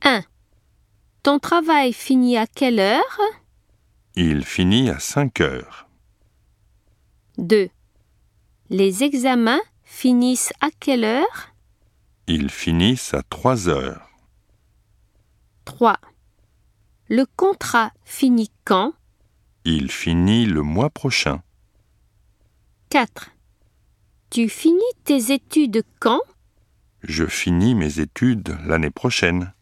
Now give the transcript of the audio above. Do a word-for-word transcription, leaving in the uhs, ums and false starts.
un. Ton travail finit à quelle heure? Il finit à cinq heures. deux. Les examens finissent à quelle heure? Ils finissent à trois heures. trois. Le contrat finit quand? Il finit le mois prochain. quatre. Tu finis tes études quand? Je finis mes études l'année prochaine.